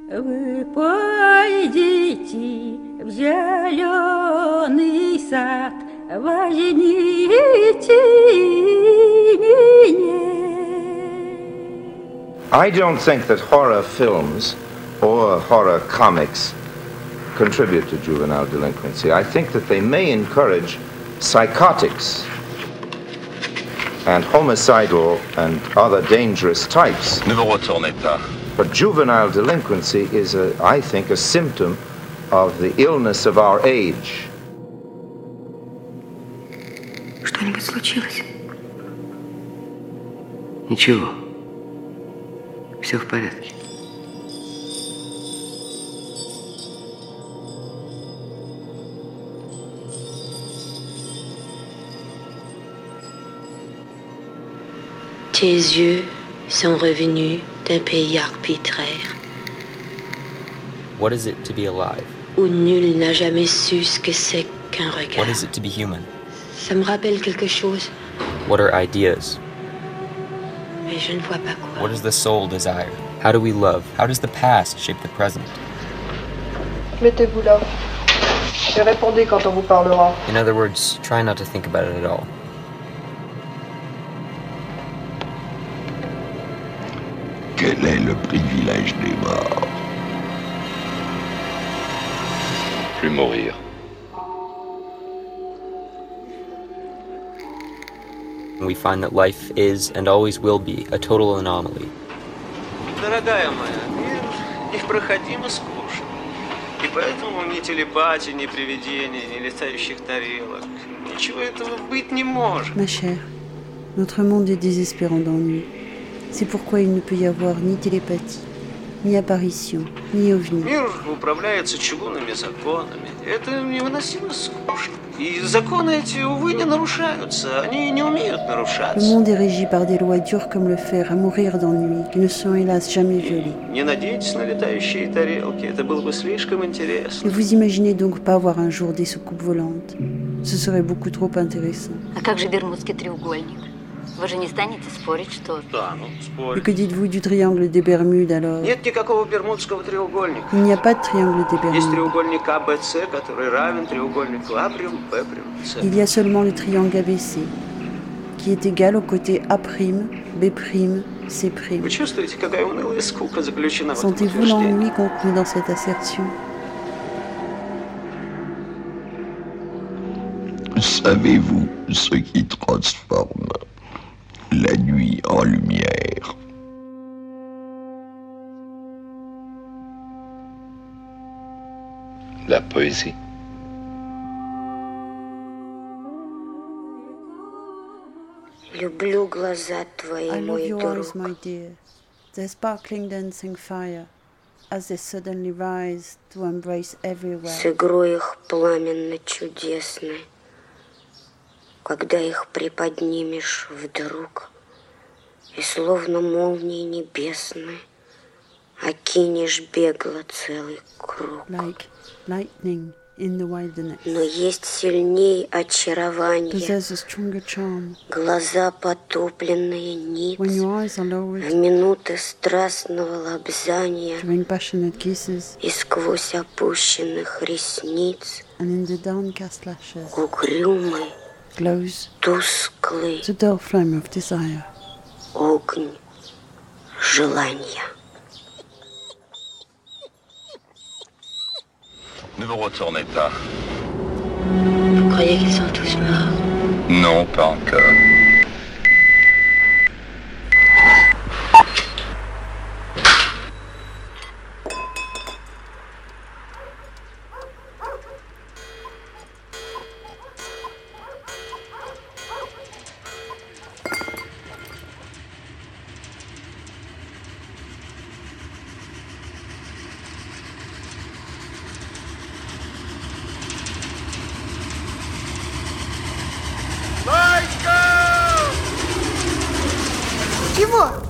Вы пойдите в зеленый сад, возьмите меня. I don't think that horror films or horror comics contribute to juvenile delinquency. I think that they may encourage psychotics and homicidal and other dangerous types. Ne vous retournez pas. But juvenile delinquency is, I think, a symptom of the illness of our age. Что-нибудь случилось? Ничего. Все в порядке. Tes yeux sont revenus d'un pays arbitraire. What is it to be alive? Où nul n'a jamais su ce que c'est qu'un regard. What is it to be human? Ça me rappelle quelque chose, What are ideas? mais je ne vois pas quoi. What does the soul desire? How do we love? How does the past shape the present? Mettez-vous là et répondez quand on vous parlera. In other words, try not to think about it at all. Quel est le privilège des morts? Plus mourir. We find that life is and always will be a total anomaly. Дорогая моя, мир непроходимо скучен. И поэтому ни телепатии, ни привидений, ни летающих тарелок. Ничего этого быть не может. Ma chère, notre monde est désespérant d'ennui. C'est pourquoi il ne peut y avoir ni télépathie, ni apparition, ni ovni. Мир управляется чугунными законами. Это невыносимо скучно. И законы эти, увы, не нарушаются. Они не умеют Le нарушаться. monde est régi par des lois dures comme le fer, à mourir d'ennui, qui ne sont hélas jamais violées. Не надейтесь на летающие тарелки. Это было бы слишком интересно. Ne vous imaginez donc pas voir un jour des soucoupes volantes. Ce serait beaucoup trop intéressant. А как же Бермудский треугольник? Вы же не станете спорить, что... Да, ну, Et спорь. que dites-vous du triangle des Bermudes alors? Нет никакого бермудского треугольника. Il n'y a pas de triangle des Есть Bermudes. треугольник АБЦ, который равен треугольнику А', Б', С. Il y a seulement le triangle ABC, qui est égal au côté A', B', C'. Вы чувствуете, какая унылая скука заключена в этом Sentez-vous утверждении? l'ennui contenu dans cette assertion? Savez-vous ce qui transforme la nuit en lumière? La poésie. Люблю глаза твои, I love мой your eyes, друг. my dear, their sparkling dancing fire, as they suddenly rise to embrace everywhere. С игрой их пламенно-чудесной. Когда их приподнимешь вдруг, и словно молнии небесной окинешь бегло целый круг. Like lightning in the wilderness. Но есть сильней очарование, Possess a stronger charm. глаза потупленные When ниц, your eyes are в lowered минуты страстного лобзания during passionate kisses, и сквозь опущенных ресниц and in the downcast lashes, угрюмый, glows тусклый the dull flame of desire. огонь желания. Ne vous retournez pas. Vous croyez qu'ils sont tous morts? Non, pas encore. Чего?